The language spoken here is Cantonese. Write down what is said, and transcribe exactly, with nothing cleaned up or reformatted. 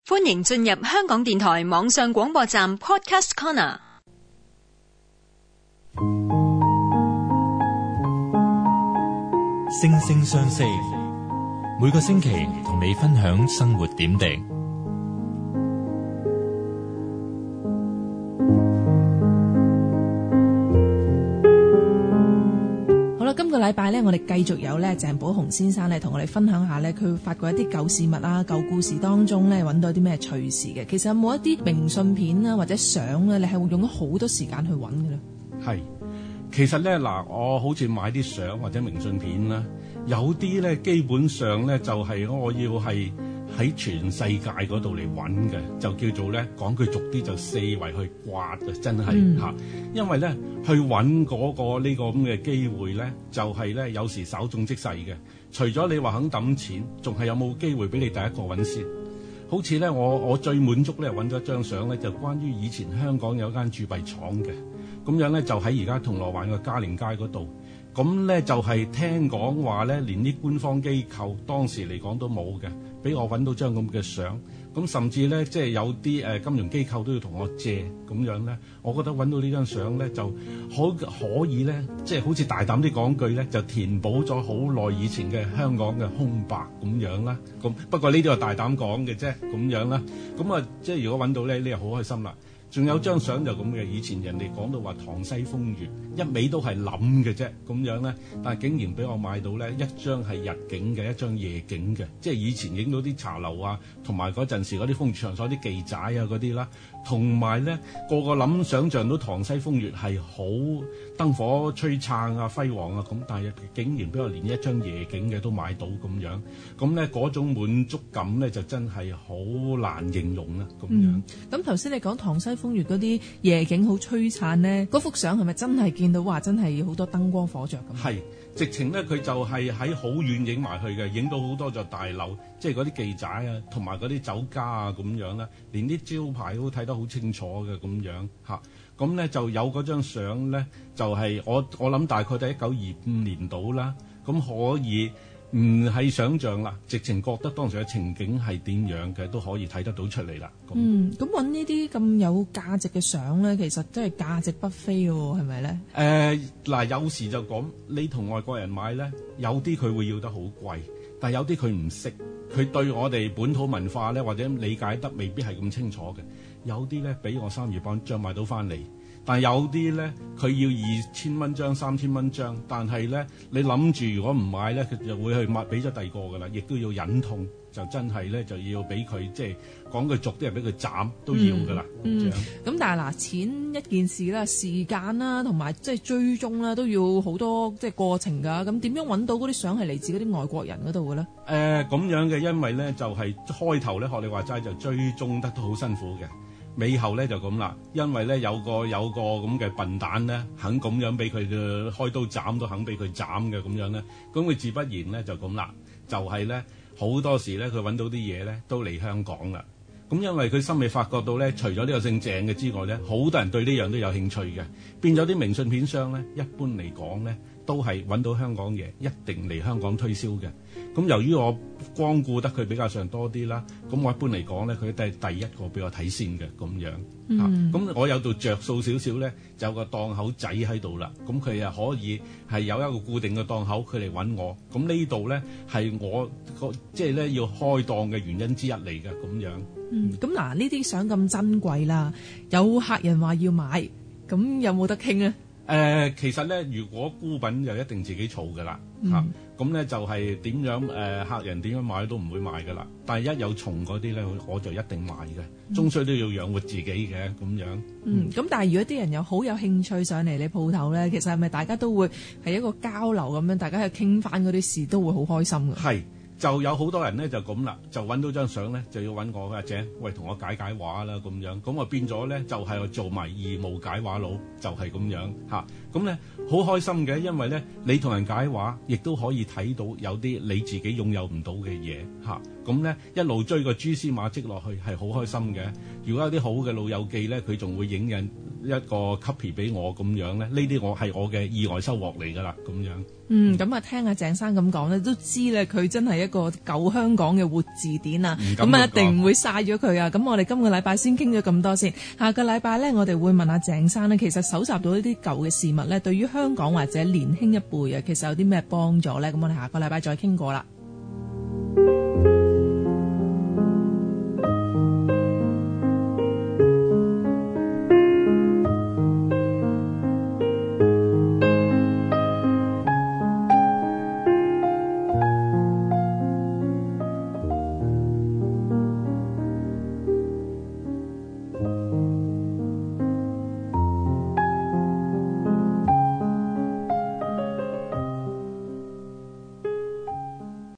歡迎進入香港電台網上廣播站 Podcast Corner。 星聲相識，每個星期同你分享生活點滴。 好啦，今個禮拜咧，我哋繼續有咧鄭寶鴻先生咧，同我哋分享下咧，佢發掘一啲舊事物啊、舊故事當中咧，揾到啲咩趣事嘅。其實有冇一啲明信片啊，或者相咧，你係會用咗好多時間去揾嘅咧？ 係，其實咧嗱，我好似買啲相或者明信片啦，有啲咧基本上咧就係我要係喺全世界嗰度嚟揾嘅，就叫做咧講句俗啲就四圍去刮嘅，真係嚇、嗯。因為咧去揾嗰個呢個咁嘅機會咧，就係咧有時稍縱即逝嘅。除咗你話肯揼錢，仲係有冇機會俾你第一個揾先？好似咧，我我最滿足咧揾咗一張相咧，就關於以前香港有間鑄幣廠嘅，咁樣咧就喺而家銅鑼灣嘅嘉寧街嗰度。咁咧就係聽講話咧，連啲官方機構當時嚟講都冇嘅，俾我揾到張咁嘅相。咁甚至咧，即係有啲誒金融機構都要同我借咁樣咧。我覺得揾到呢張相咧，就可可以咧，即係好似大膽啲講句咧，就填補咗好耐以前嘅香港嘅空白咁樣啦。咁不過呢啲係大膽講嘅啫，咁樣啦。咁啊，即係如果揾到咧，你就好開心啦。仲有張相就咁嘅，以前人哋講到話塘西風月，一味都係諗嘅啫，咁樣咧，但係竟然俾我買到咧一張係日景嘅，一張夜景嘅，即係以前影到啲茶樓啊，同埋嗰陣時嗰啲風月場所啲記載啊嗰啲啦，同埋咧個個諗想像到塘西風月係好燈火璀璨啊、輝煌啊咁，但係竟然俾我連一張夜景嘅都買到咁樣，咁咧嗰種滿足感咧就真係好難形容啦，咁樣。 咁頭先你講塘西風月嗰啲夜景好璀璨咧，嗰幅相係咪真係見到話真係好多燈光火著咁？ 係，直情咧佢就係喺好遠影埋去嘅，影到好多座大樓，即係嗰啲記仔啊，同埋嗰啲酒家啊咁樣啦，連啲招牌都睇得好清楚嘅咁樣嚇。咁咧就有嗰張相咧，就係、是、我我諗大概喺一九二五年度啦，咁可以。唔係想像啦，直情覺得當時嘅情景係點樣嘅，都可以睇得到出嚟啦。 嗯，咁揾呢啲咁有價值嘅相咧，其實真係價值不菲喎，係咪咧？ 誒嗱、呃，有時就講你同外國人買咧，有啲佢會要得好貴，但係有啲佢唔識，佢對我哋本土文化咧或者理解得未必係咁清楚嘅。有啲咧俾我三月幫張買到翻嚟。但係有啲咧，佢要二千蚊張、三千蚊張，但係咧，你諗住如果唔買咧，佢就會去買俾咗第二個㗎啦，亦都要忍痛，就真係咧就要俾佢即係講句俗啲，係俾佢斬都要㗎啦。 嗯，咁、嗯、但係嗱，錢一件事啦，時間啦，同埋即係追蹤啦，都要好多即係過程㗎。咁點樣揾到嗰啲相係嚟自嗰啲外國人嗰度嘅咧？誒、 呃，咁樣嘅，因為咧就係、是、開頭咧學你話齋就追蹤得都好辛苦嘅。尾後咧就咁啦，因為咧有個有個咁嘅笨蛋咧，肯咁樣俾佢嘅開刀斬都肯俾佢斬嘅咁樣咧，咁佢自不然咧就咁啦，就係咧好多時咧佢揾到啲嘢咧都嚟香港啦。咁因為佢心裏發覺到咧，除咗呢個姓鄭嘅之外咧，好多人對呢樣都有興趣嘅，變咗啲明信片商咧，一般嚟講咧都係揾到香港嘢，一定嚟香港推銷嘅。咁由於我光顧得佢比較上多啲啦，咁我一般嚟講咧，佢都係第一個俾我睇先嘅咁樣嚇。咁、嗯啊、我有度着數少少咧，就有個檔口仔喺度啦。咁佢又可以係有一個固定嘅檔口，佢嚟揾我。咁呢度咧係我個即係咧要開檔嘅原因之一嚟嘅咁樣。 嗯，咁嗱呢啲相咁珍貴啦，有客人話要買，咁有冇得傾咧？ 誒、呃，其實咧，如果孤品就一定自己儲㗎啦，嚇、嗯，咁咧、啊、就係點樣誒、呃，客人點樣買都唔會賣㗎啦。但係一有蟲嗰啲咧，我就一定賣嘅，終須都要養活自己嘅咁樣。 嗯，咁、嗯、但係如果啲人有好有興趣上嚟你鋪頭咧，其實係咪大家都會係一個交流咁樣，大家去傾翻嗰啲事都會好開心㗎？係。 就有好多人咧就咁啦，就揾到張相咧就要揾我阿姐，喂同我解解畫啦咁樣，咁啊變咗咧就係、是、做埋義務解畫佬，就係、是、咁樣嚇。咁咧好開心嘅，因為咧你同人解畫，亦都可以睇到有啲你自己擁有唔到嘅嘢嚇。咁咧一路追個蛛絲馬跡落去係好開心嘅。如果有啲好嘅老友記咧，佢仲會影印一個 copy 俾我咁樣咧，呢啲我係我嘅意外收穫嚟㗎啦，咁樣。 嗯，咁啊，聽阿鄭生咁講咧，都知咧佢真係一個舊香港嘅活字典啊，咁啊一定唔會嘥咗佢啊。咁我哋今個禮拜先傾咗咁多先，下個禮拜咧我哋會問阿鄭生咧，其實搜集到一啲舊嘅事物咧，對於香港或者年輕一輩啊，其實有啲咩幫助咧？咁我哋下個禮拜再傾過啦。